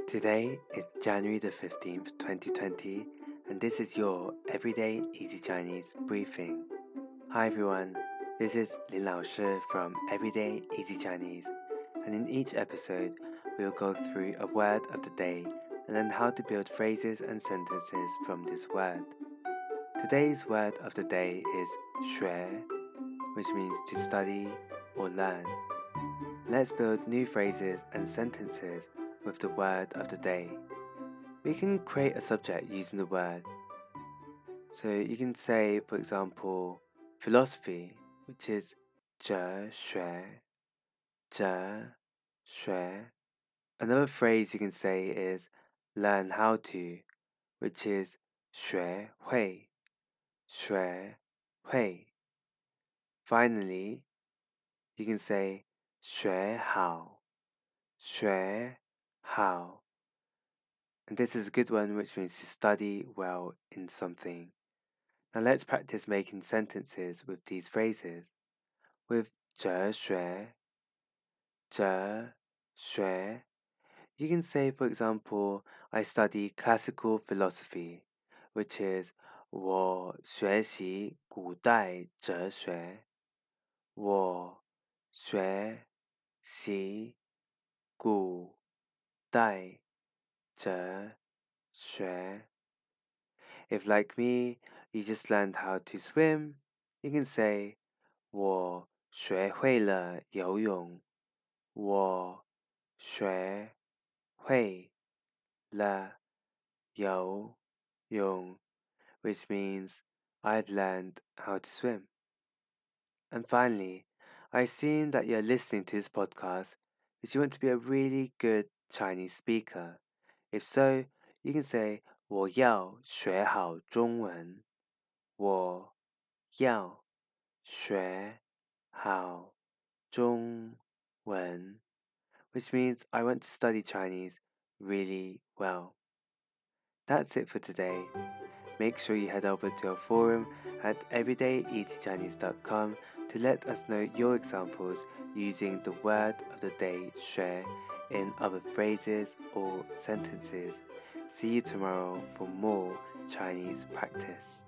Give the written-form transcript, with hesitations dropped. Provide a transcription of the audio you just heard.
Today is January the 15th, 2020, and this is your Everyday Easy Chinese briefing. Hi everyone, this is Lin Lao Shi from Everyday Easy Chinese, and in each episode, we'll go through a word of the day and learn how to build phrases and sentences from this word. Today's word of the day is 学, which means to study or learn. Let's build new phrases and sentences with the word of the day. We can create a subject using the word. So you can say, for example, philosophy, which is 哲学, 哲学. Another phrase you can say is learn how to, which is 学会, 学会. Finally, you can say 学好, 学好. And this is a good one, which means to study well in something. Now let's practice making sentences with these phrases. With 哲学, 哲学, you can say, for example, I study classical philosophy, which is 我学习古代哲学。我学习古代哲学。If like me, you just learned how to swim, you can say 我学会了游泳。我学会了游泳 which means I've learned how to swim. And finally, I assume that you're listening to this podcast because you want to be a really good Chinese speaker. If so, you can say 我要学好中文。我要学好中文 which means I want to study Chinese really well. That's it for today. Make sure you head over to our forum at everydayeasychinese.com to let us know your examples using the word of the day 学 in other phrases or sentences. See you tomorrow for more Chinese practice.